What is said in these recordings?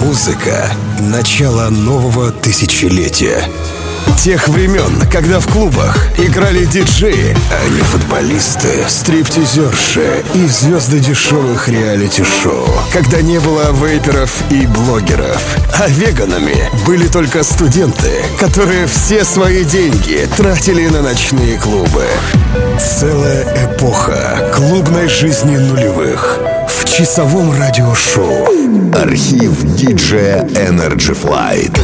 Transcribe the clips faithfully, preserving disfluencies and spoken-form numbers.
Музыка — начало нового тысячелетия. Тех времен, когда в клубах играли диджеи, а не футболисты, стриптизерши и звезды дешевых реалити-шоу. Когда не было вейперов и блогеров, а веганами были только студенты, которые все свои деньги тратили на ночные клубы. Целая эпоха клубной жизни нулевых в часовом радиошоу. Архив диджея Energy Flight.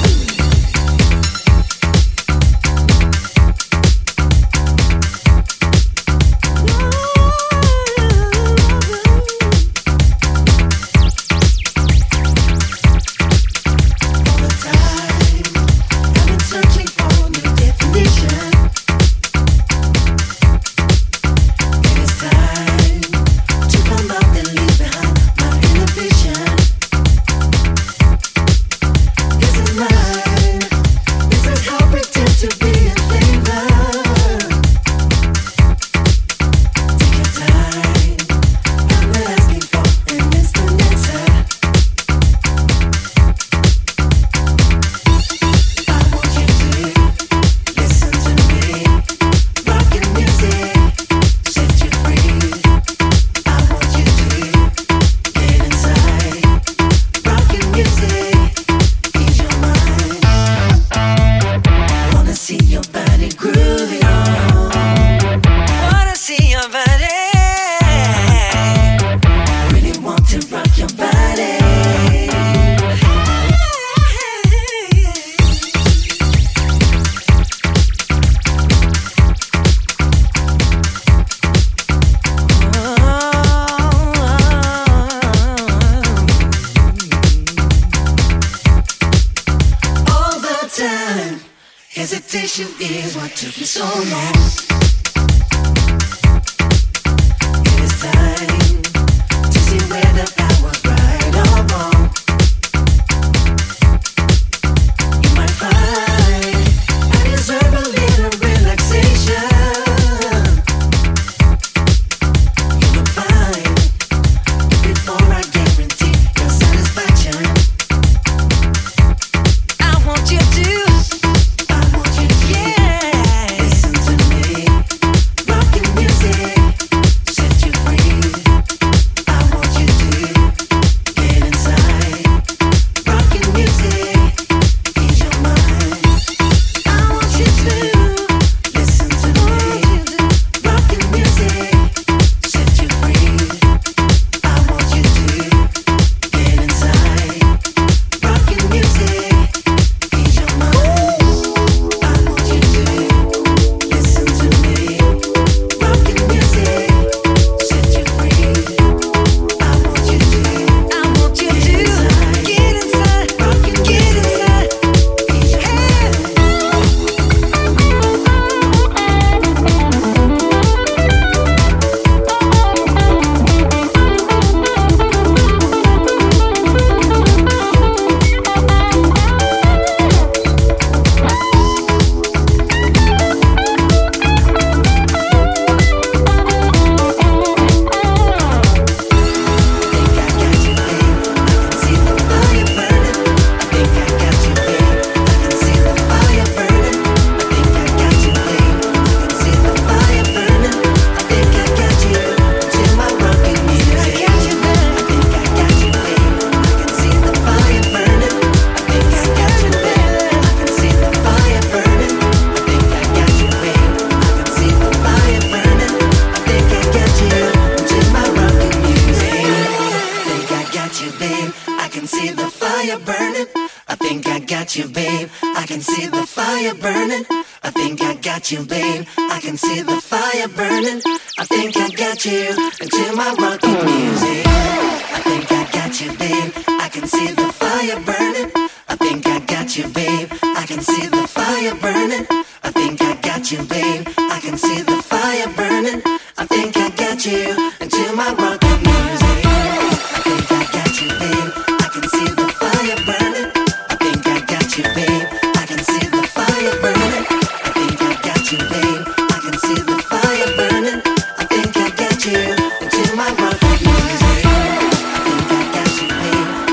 Hesitation is what took me so long. It is time to see whether I was right or wrong. You might find I deserve a little relaxation. You look fine before I guarantee your satisfaction. I want you to you, babe. I can see the fire burning. I think I got you, babe. I can see the fire burning. I think I got you into my rocking music. I think I got you, babe. I can see the fire burning. I think I got you, babe. I can see the fire burning. I think I got you, babe. I can see the fire burning. I think I got you into my rocking music. I think I got you, babe. I can see the fire burning. I think I got you, babe. I can see the fire burning. I think I got you, babe. I can see the fire burning. I think I got you into my rocking music. I think I got you, babe.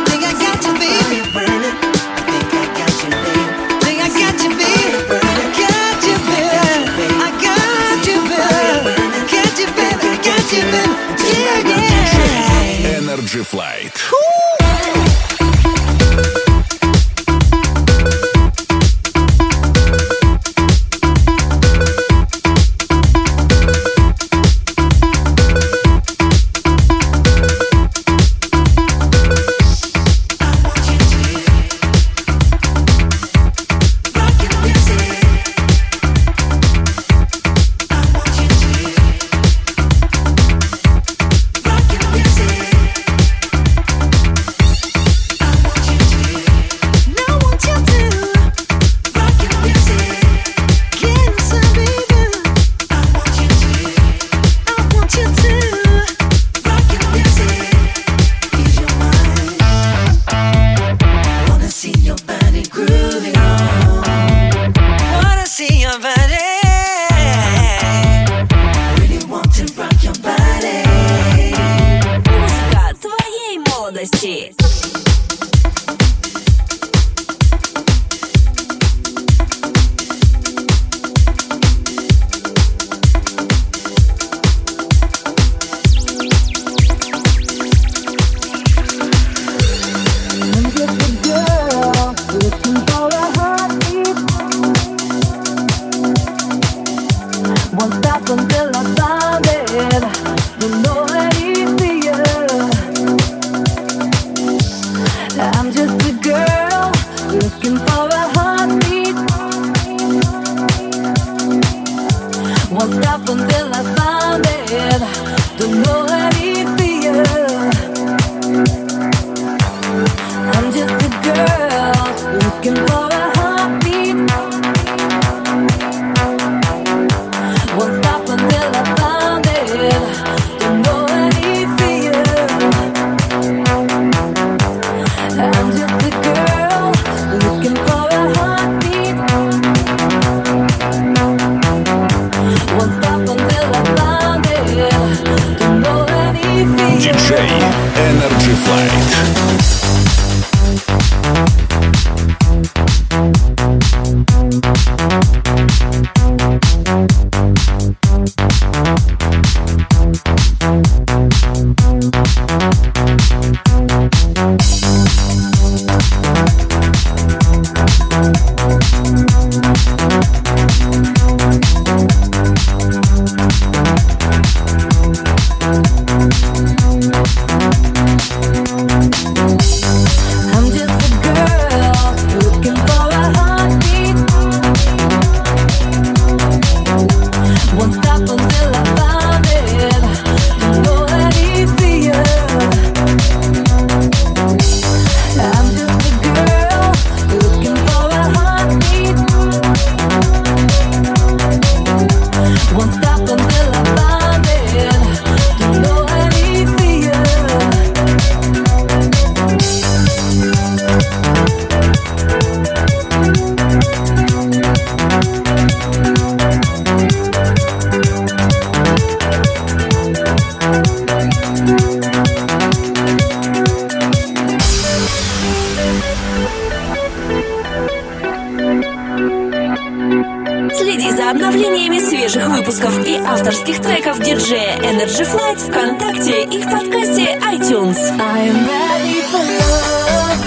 Следи за обновлениями свежих выпусков и авторских треков диджея Energy Flight ВКонтакте и в подкасте iTunes. I am ready for love.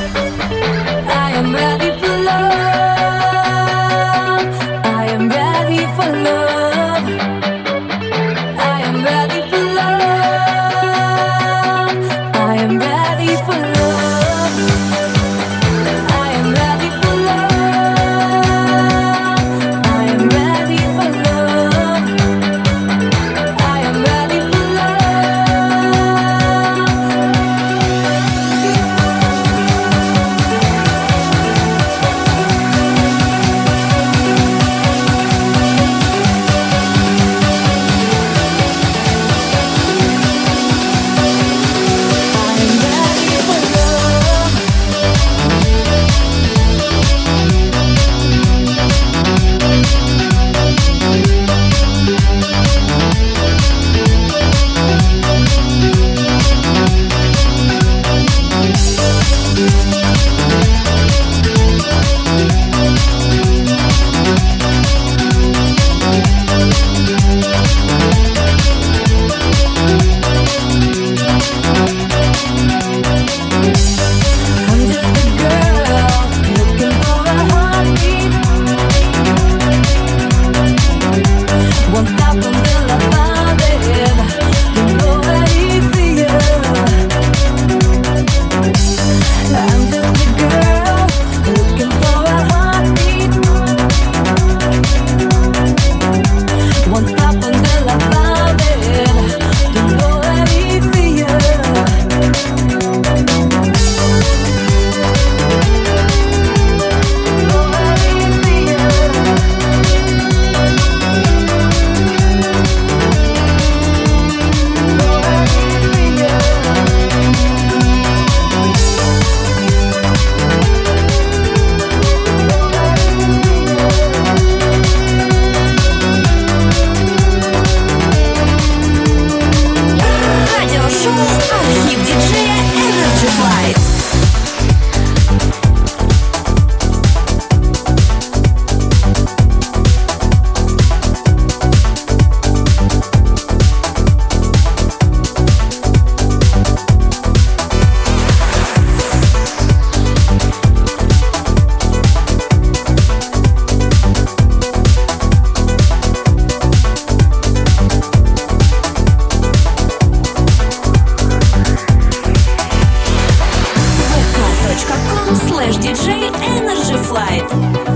I am ready for love. I am ready for love. I am ready for love. I am ready for love. I am ready for love. I am ready for love. I am ready for love. точка ком слэш диджей Energy Flight.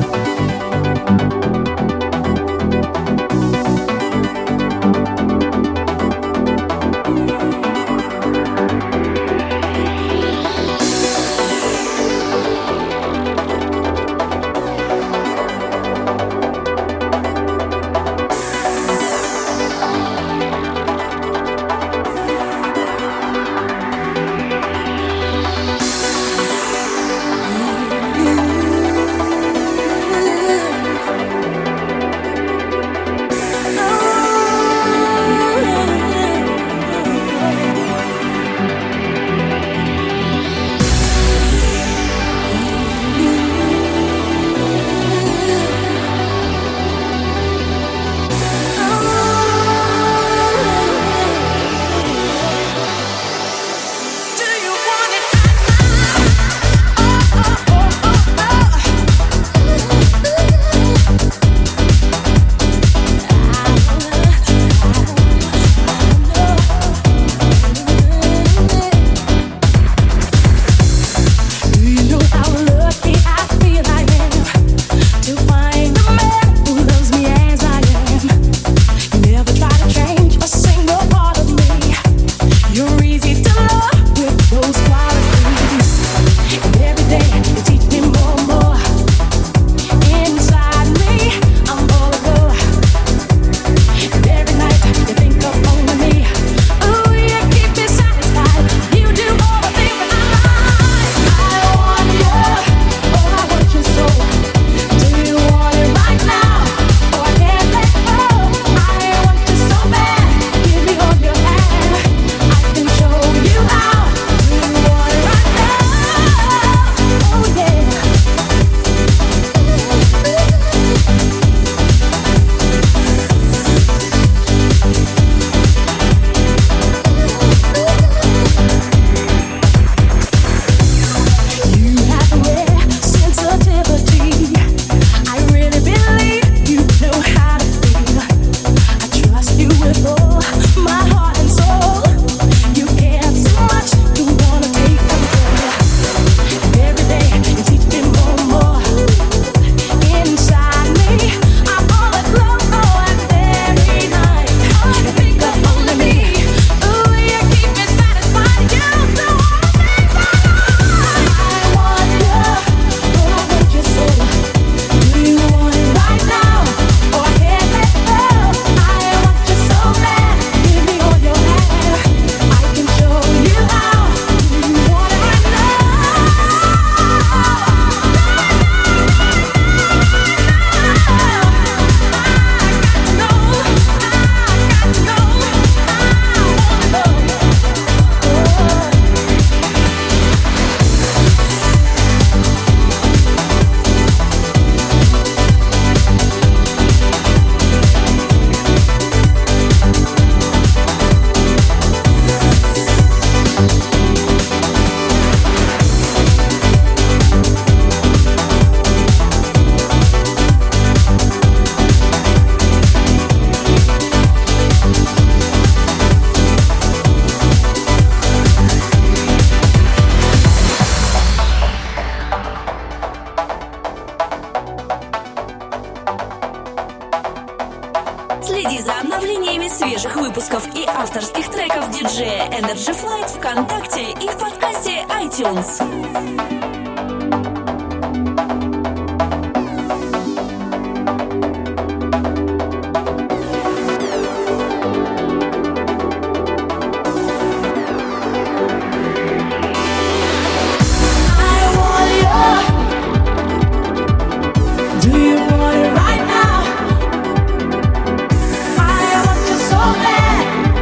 Следи за обновлениями свежих выпусков и авторских треков диджея Energy Flight ВКонтакте и в подкасте iTunes.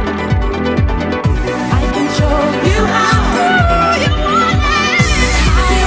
I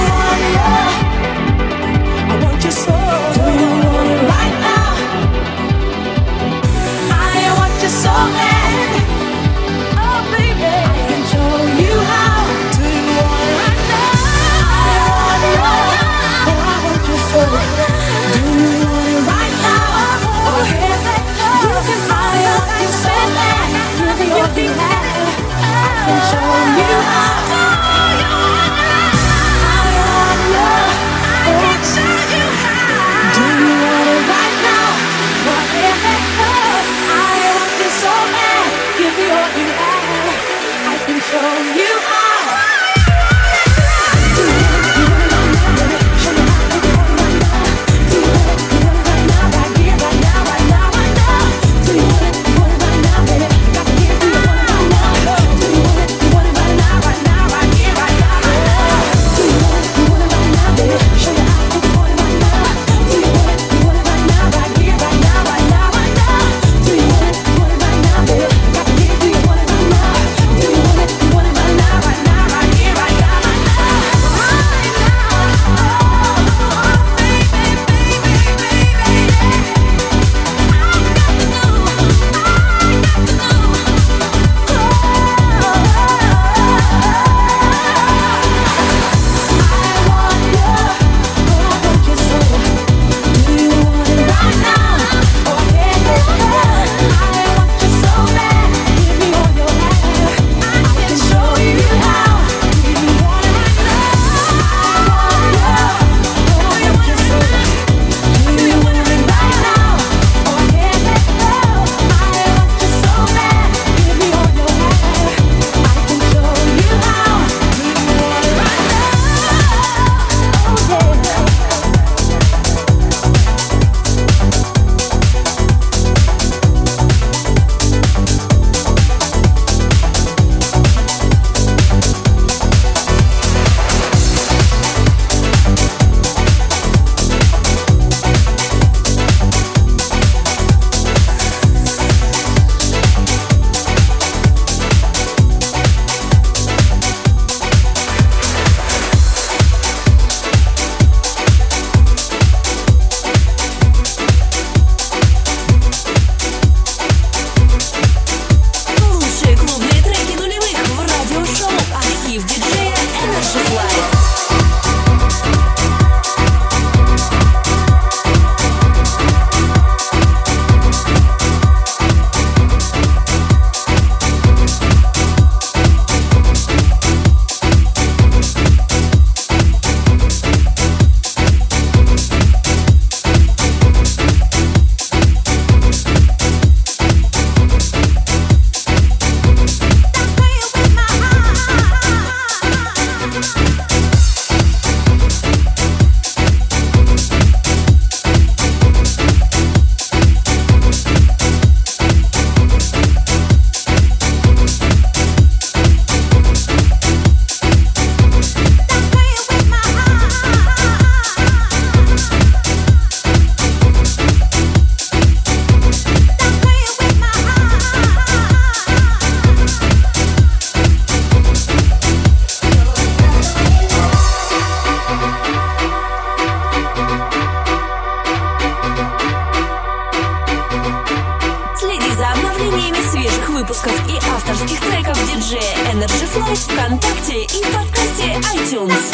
iTunes.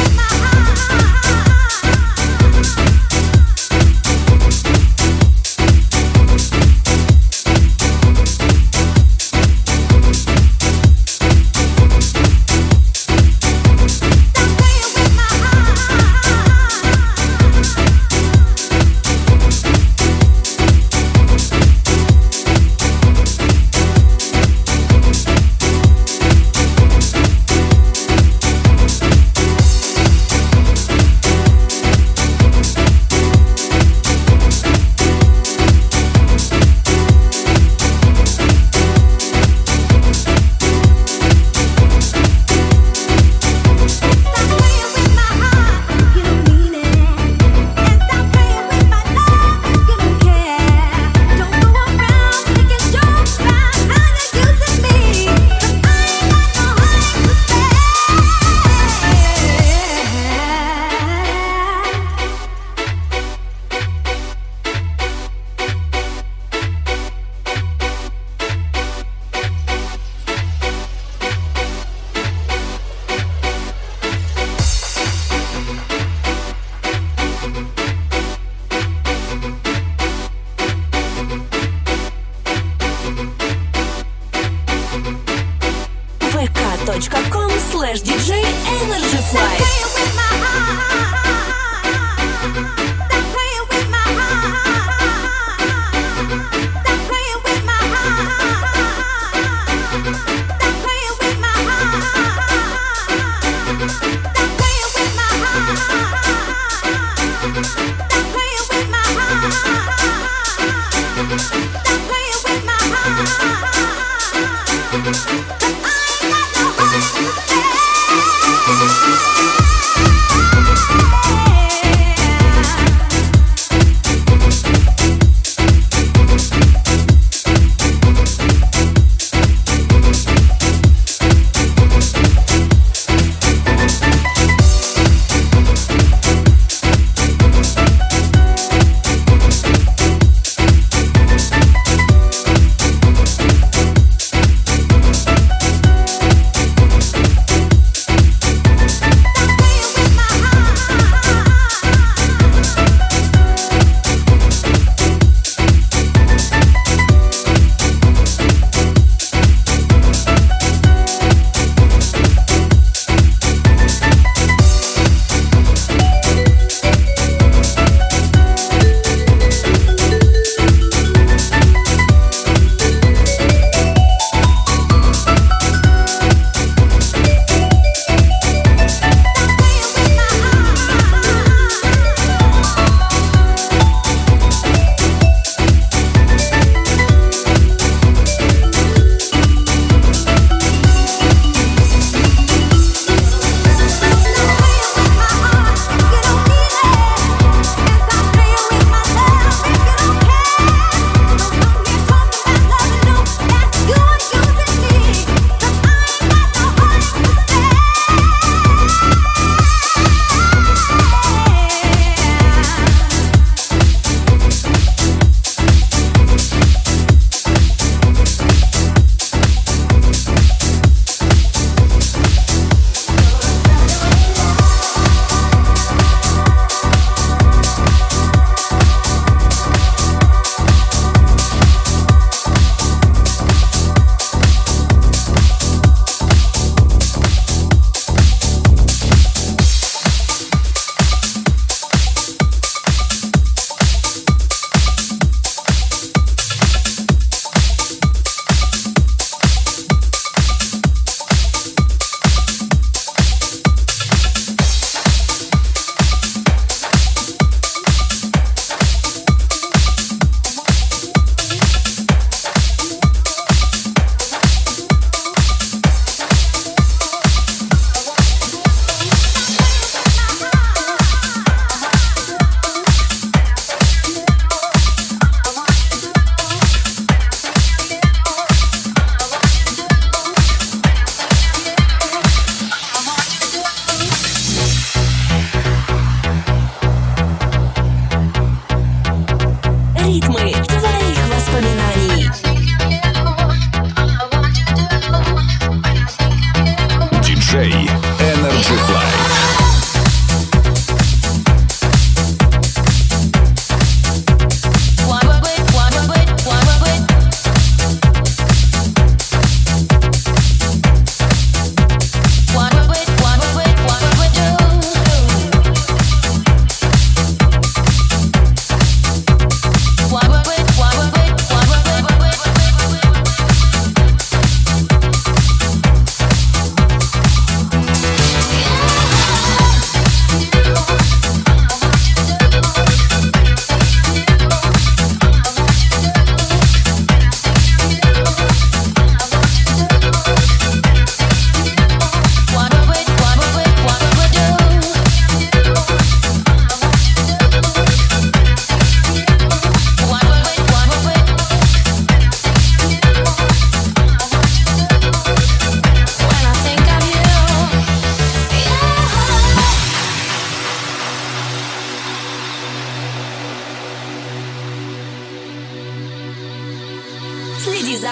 vk.com slash диджей Energy Flight.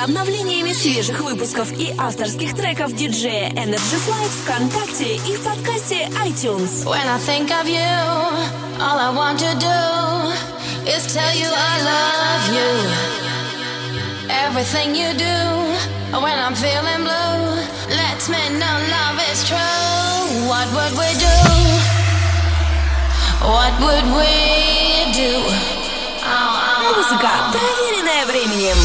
обновлениями свежих выпусков и авторских треков диджея Energy Flight ВКонтакте и в подкасте iTunes. When I think of you, all I want to do is tell you I love you. Everything you do when I'm feeling blue lets me know love is true. What would we do? What would we do? Oh, oh, oh. Музыка, проверенная временем.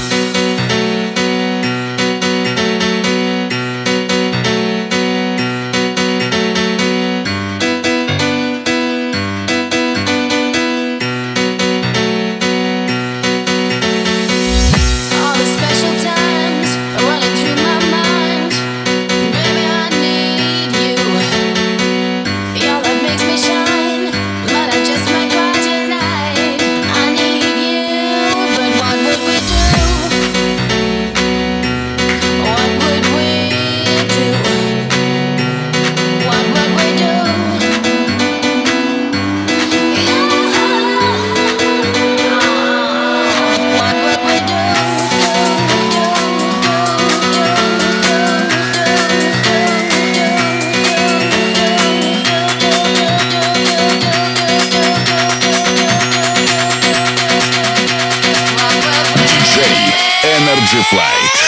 Energy Flight.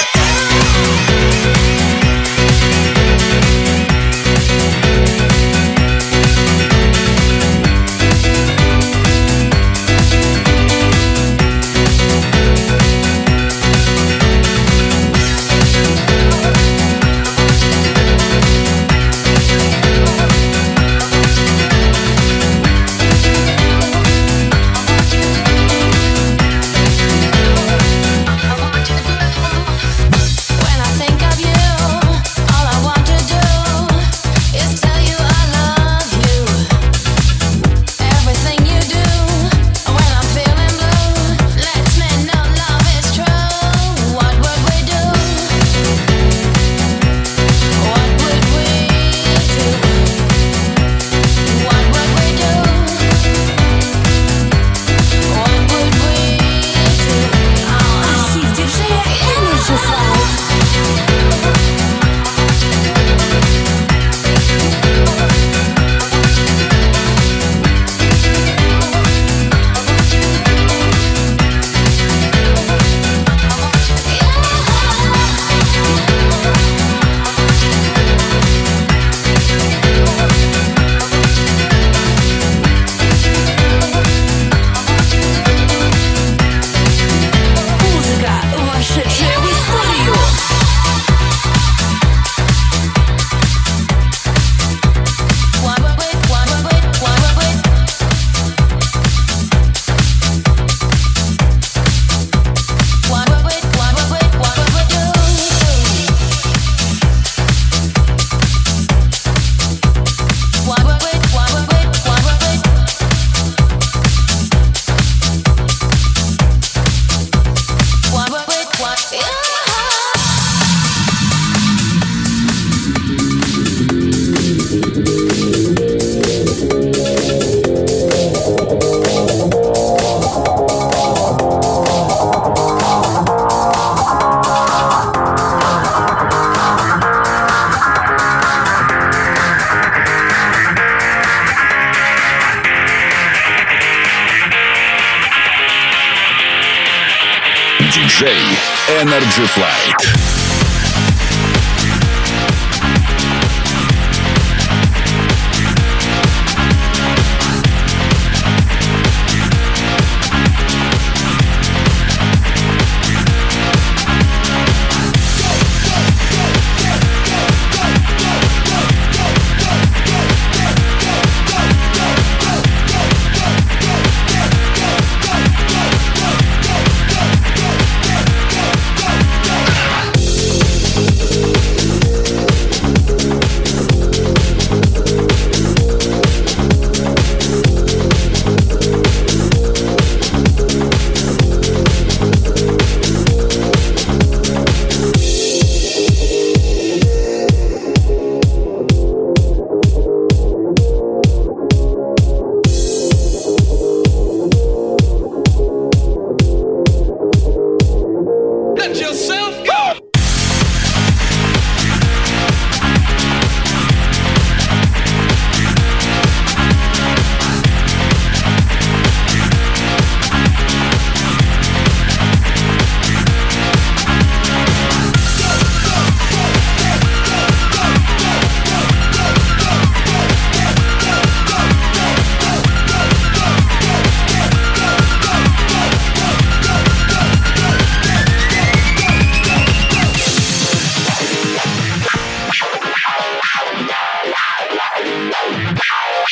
диджей Energy Flight.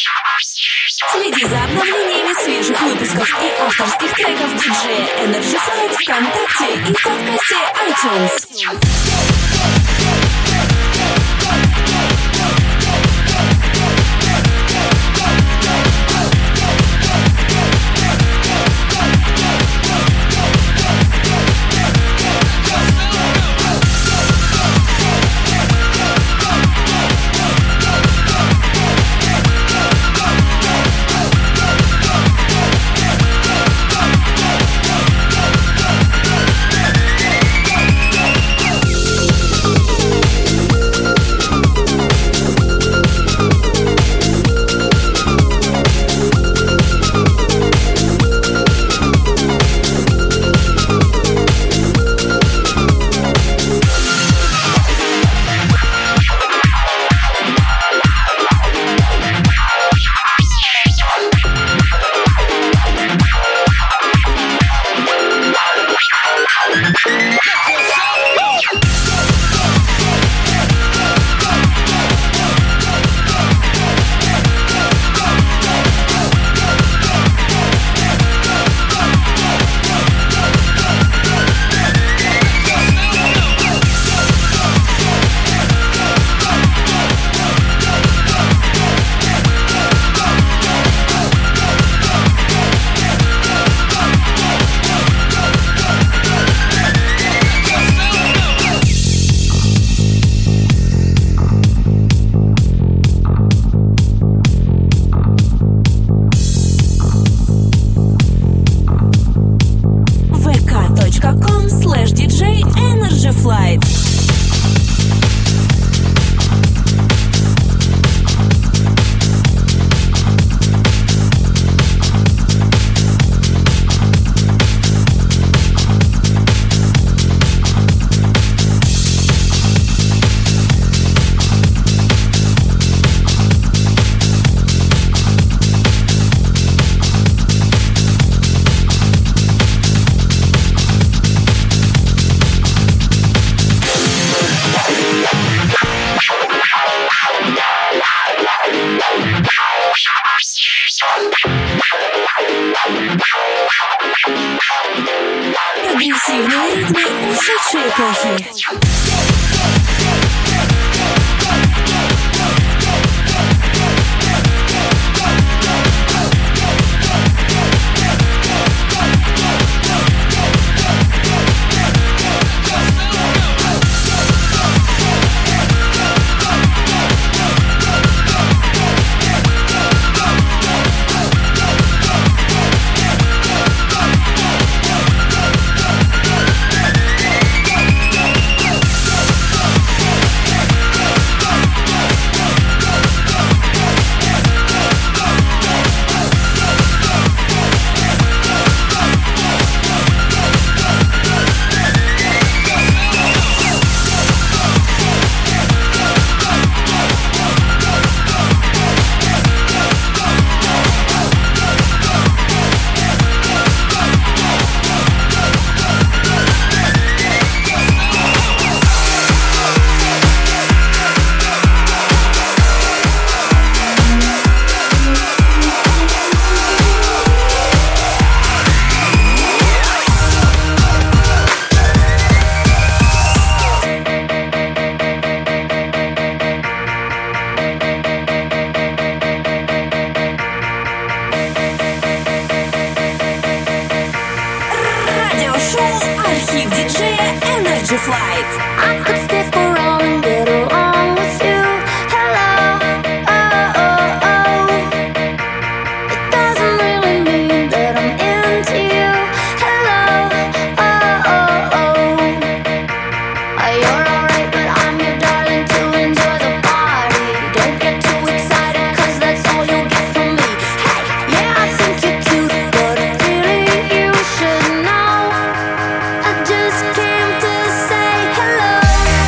Следи за обновлениями свежих выпусков и авторских треков диджея Energy Flight ВКонтакте и в подкасте iTunes. Прогрессивные ритмы ушедшей эпохи. Just came to say hello.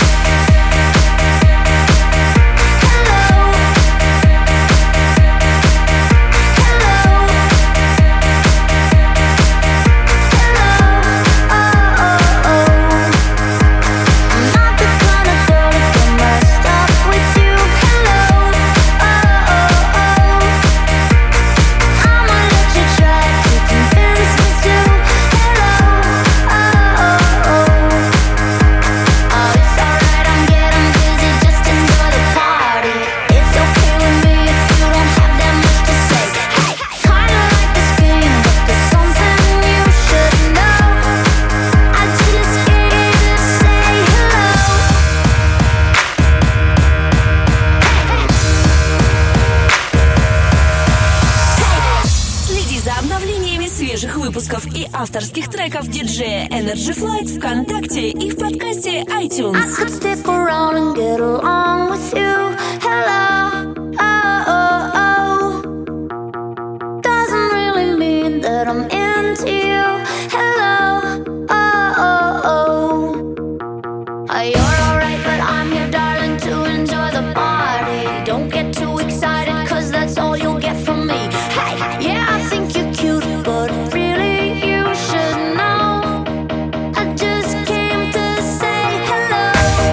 выпусков и авторских треков диджея Energy Flight ВКонтакте и в подкасте iTunes. I could stick around and get along with you. Hello, oh, oh, oh. Doesn't really mean that I'm into you. Hello, oh, oh, oh. Uh, You're alright, but I'm here, darling, to enjoy the party. Don't get too excited, cause that's all you'll get from me. Hey, yeah, I think you're cute, but really you should know I just came to say hello.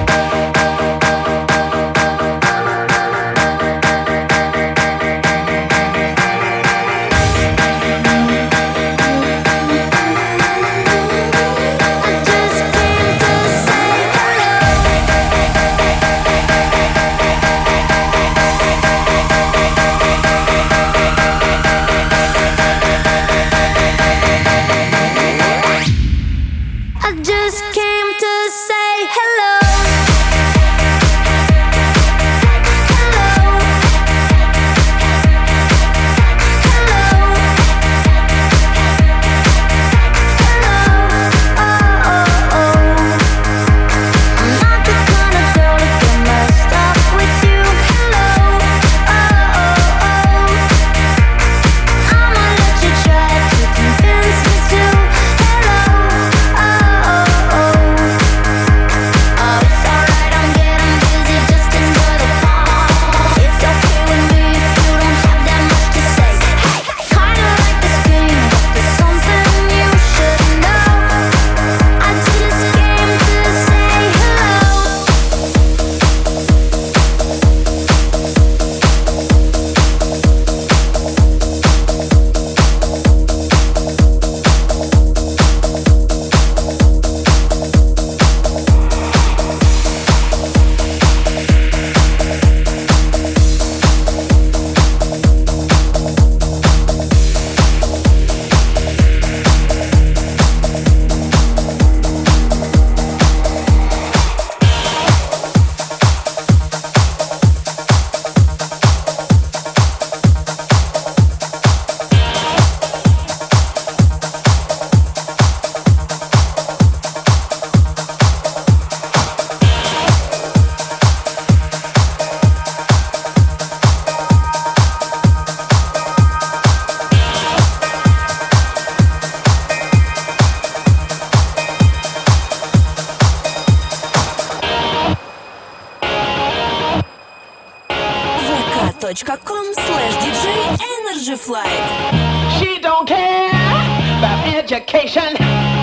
.com slash DJ Energy Flight. She don't care about education.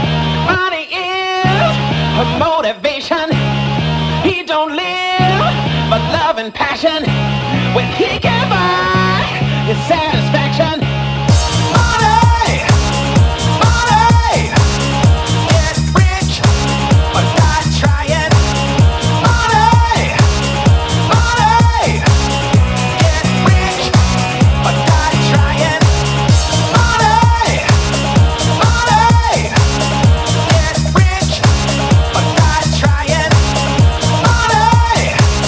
Money is her motivation. He don't live but love and passion. When he can buy his satisfaction. Money, money, get rich or die trying. Money, money, get rich or die trying. Money, money, get rich or die trying. Money,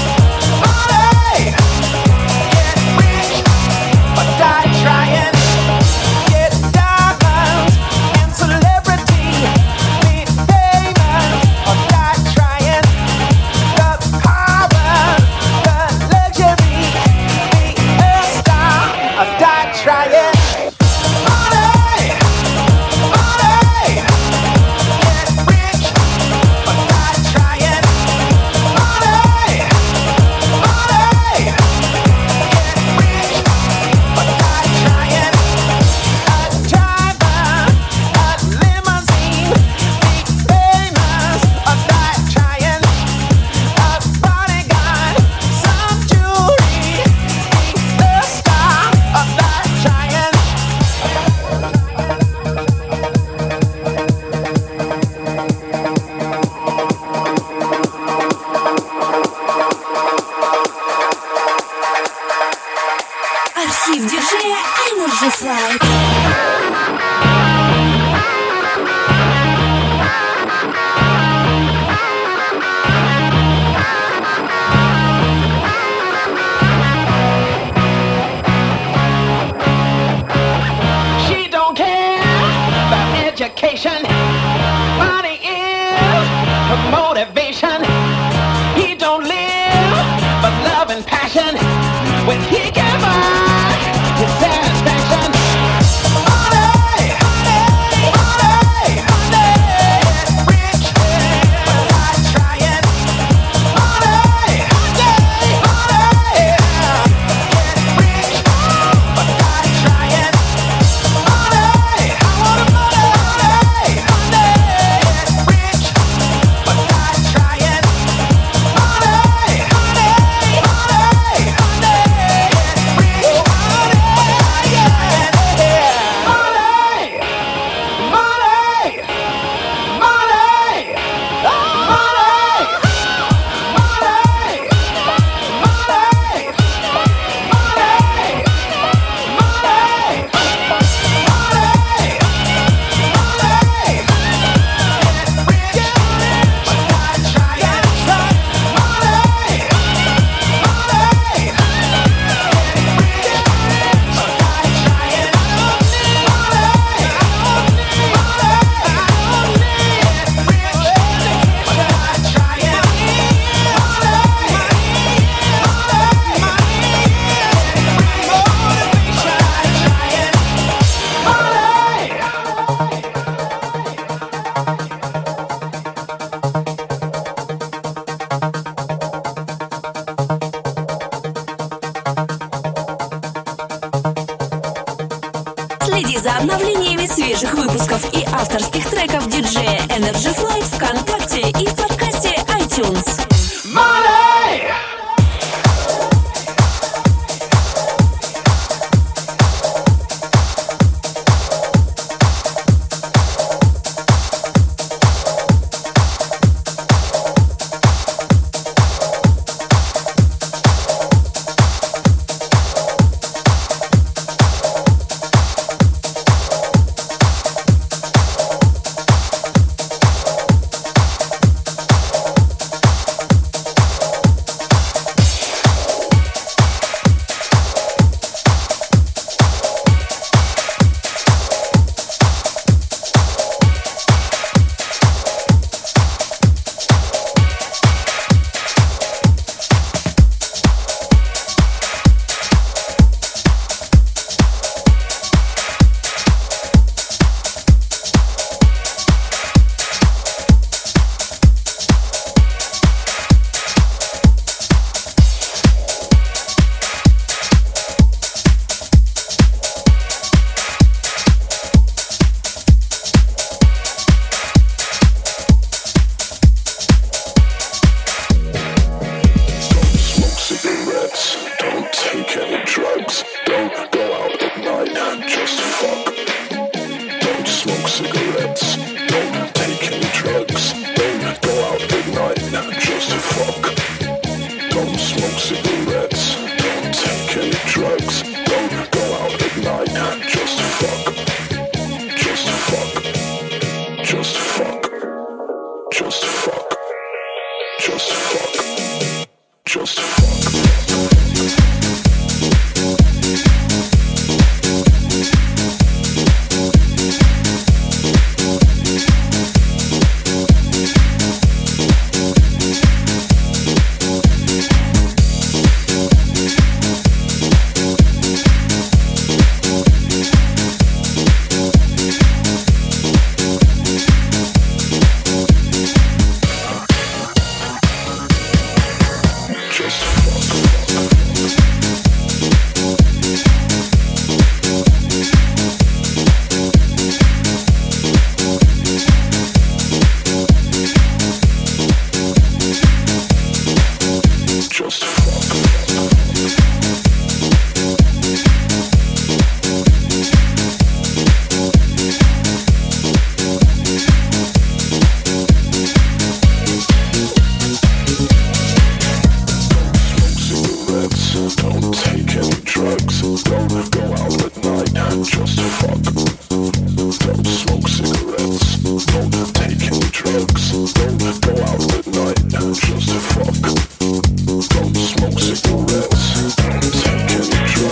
money, get rich or die trying. Get diamonds and celebrity. Be famous or die trying. The power, the luxury. Be a star or die trying. Money, money, get rich or die trying. Money, money, get rich or die trying. A driver, a limousine, be famous or die trying. A bodyguard, some jewelry, be a star or die trying. Архив диджея Energy Flight. She don't care about education. Money is her motivation. He don't live but love and passion. When he can buy his satisfaction. Money, money, money, money. Rich, but not trying. Money, money, money. Get rich, but not trying. Money, I want money, money. Get rich, but not trying. Money, money, money, money. Get rich, Следи за обновлениями свежих выпусков и авторских треков диджея Energy Flight ВКонтакте и в подкасте iTunes. Money!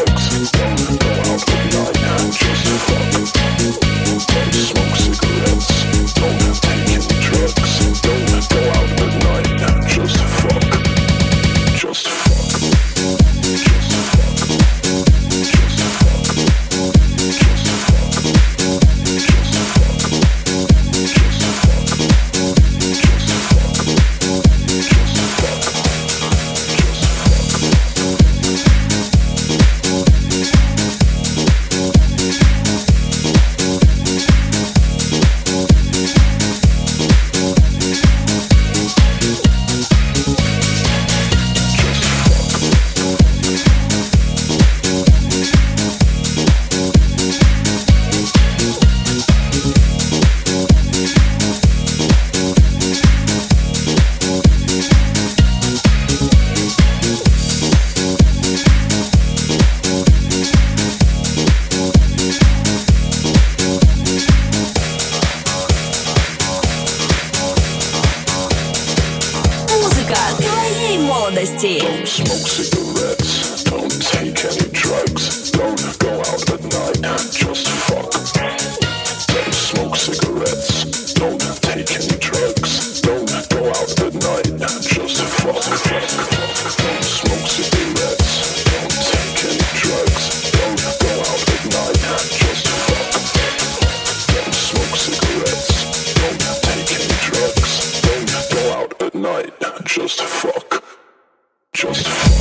Smoke cigarettes. ВКонтакте. Just fuck. Just fuck.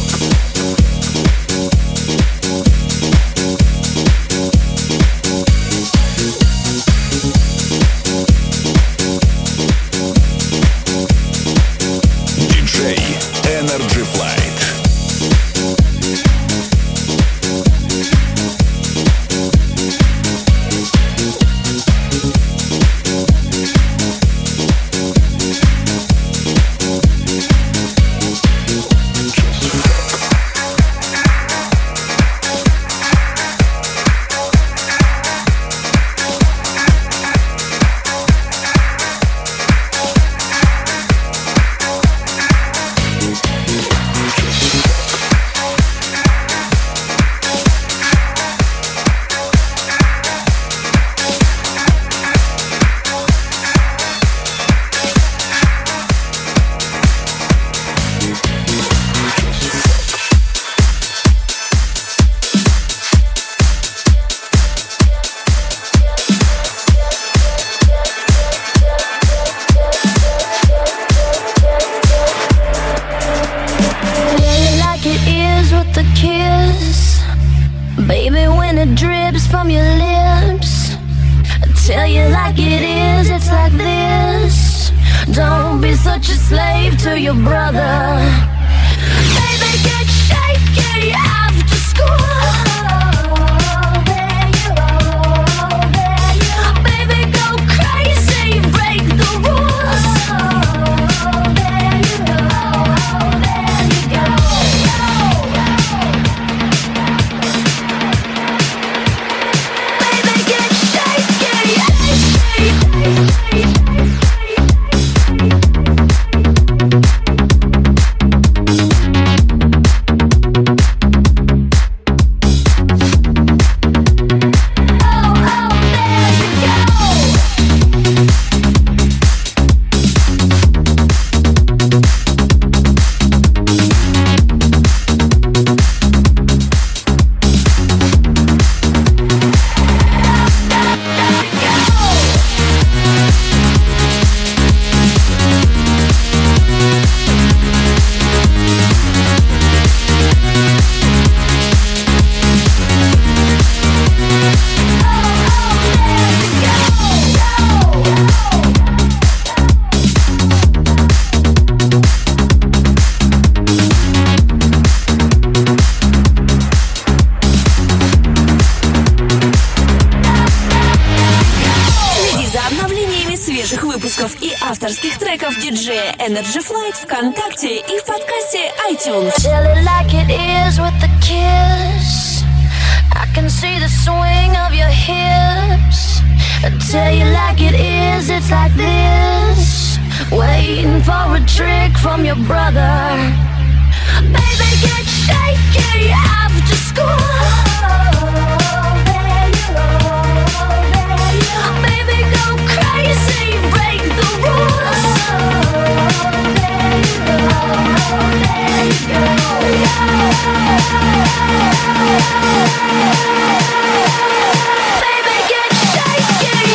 Диджей Energy Flight. И авторских треков диджея Energy Flight ВКонтакте и в подкасте iTunes. Tell it like it is with the kiss. I can see the swing of your hips. Tell you like it is, it's like this. Waiting for a trick from your brother. Baby, get shaky after school. There you go, there you go. Baby, go crazy, break the rules. There you go, there you go. Baby, get shaky.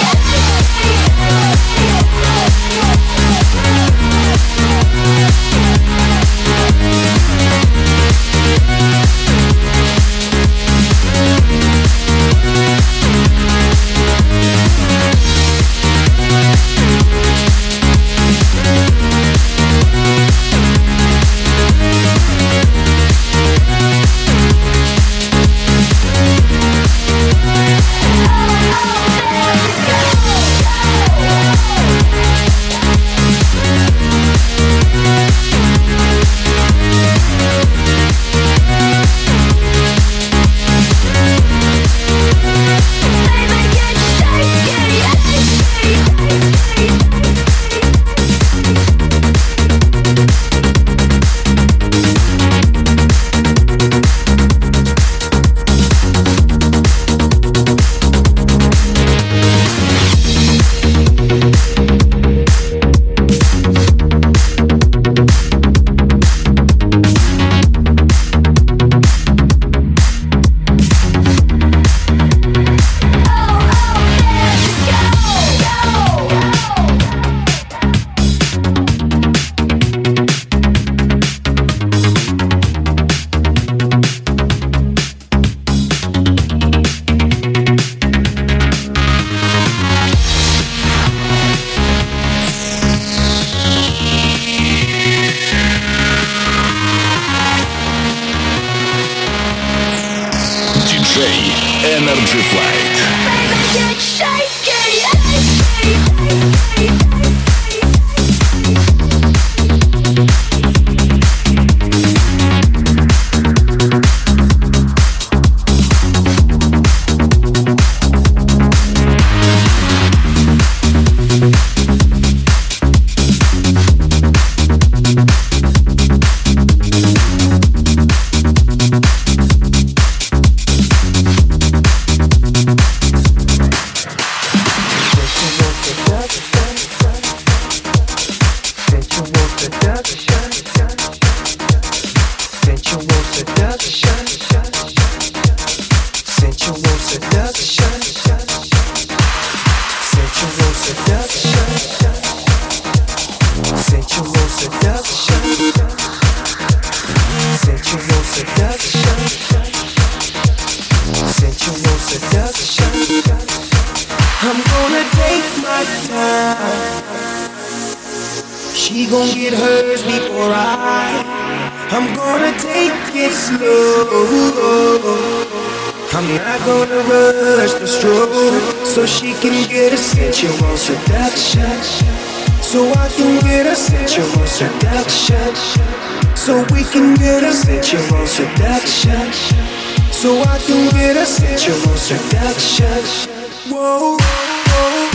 Energy Flight. She gon' get hers before I. I'm gonna take it slow. I'm not gonna rush the stroke, so she can get a sensual seduction. So I can get a sensual seduction. So we can get a sensual seduction. So I can get a sensual seduction. Whoa, whoa.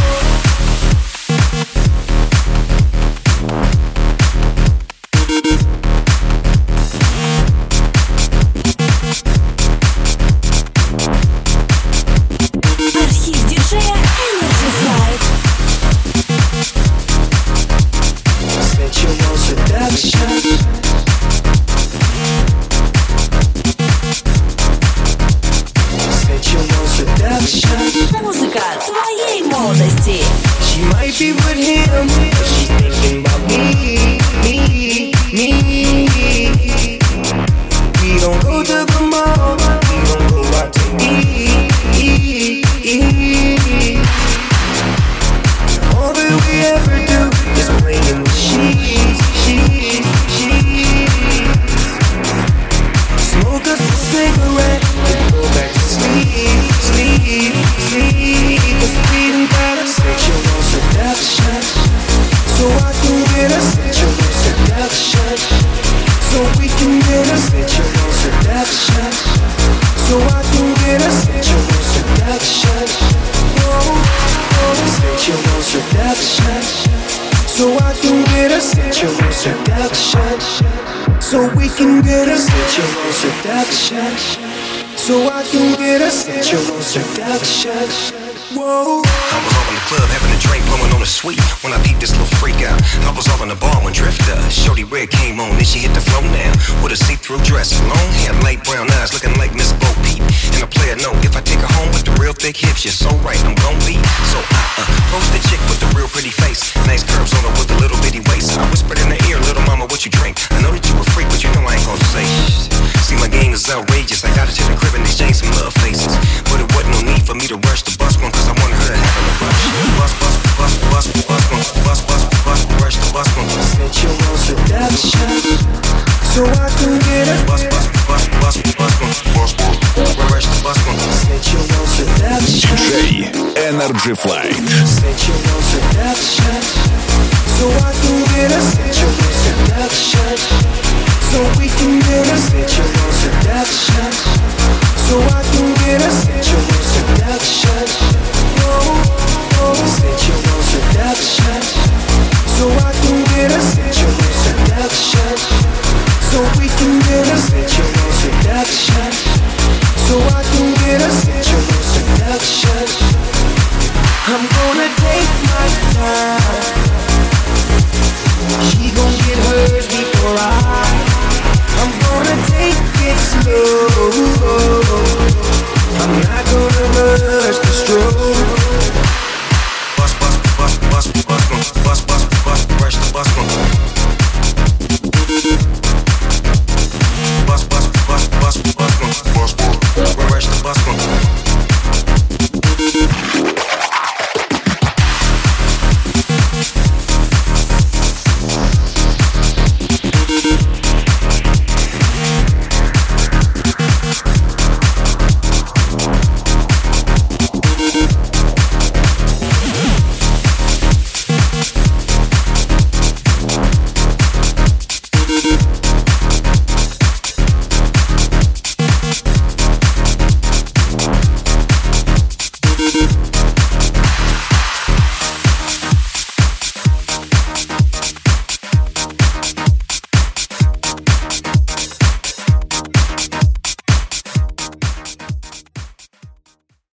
Музыка твоей молодости. She might be with him, but she's thinking about me, me, me. We don't go to the mall, we don't go out to eat, eat, eat. All that we ever do is play in the sheets, sheets, sheets. Smoke us a cigarette and go back to sleep, sleep, sleep. Cause we done got a sexual seduction, so I can get a sexual seduction. So we can get a sexual seduction. So I can get a sexual seduction. Whoa, whoa, sexual seduction. So I can get a sexual seduction. So we can get a sexual seduction. So I can get a sexual seduction. Whoa. I was all in the club having a drink, blowing on a sweet. When I peeped this little freak out, I was all in the bar when Drifter, Shorty Red came on, then she hit the flow now. With a see-through dress, long hair, light brown eyes, looking like Miss Bo Peep. And a player know, if I take her home with the real thick hips, you're so right, I'm gon' be. So I uh, roast the chick with the real pretty face, nice curves on her with a little bitty waist. I whispered in her ear, little mama, what you drink? I know that you a freak, but you know I ain't gon' say shh. See, my game is outrageous, I got her to the crib and exchange some love faces. But it wasn't no need for me to rush the bus one, cause I wanted her to have a rush. Bus, bus, bus, bus, bus, bus, bus, bus, bus, rush the bus one. Sensual seduction, so I can get a bus, bus, bus, bus, bus one, bus, bus, rush the bus one. Sensual seduction, ди джей Energy Flight. sensual seduction, so I can get a sensual seduction. So we can get a sensual seduction. So I can get a sensual seduction. Whoa, whoa, sensual seduction. So I can get a sensual seduction. So we can get a sensual seduction. So I can get a sensual seduction. I'm gonna take my time. She gon' get hers before I. I'm gonna take it slow. I'm not gonna rush the stroke,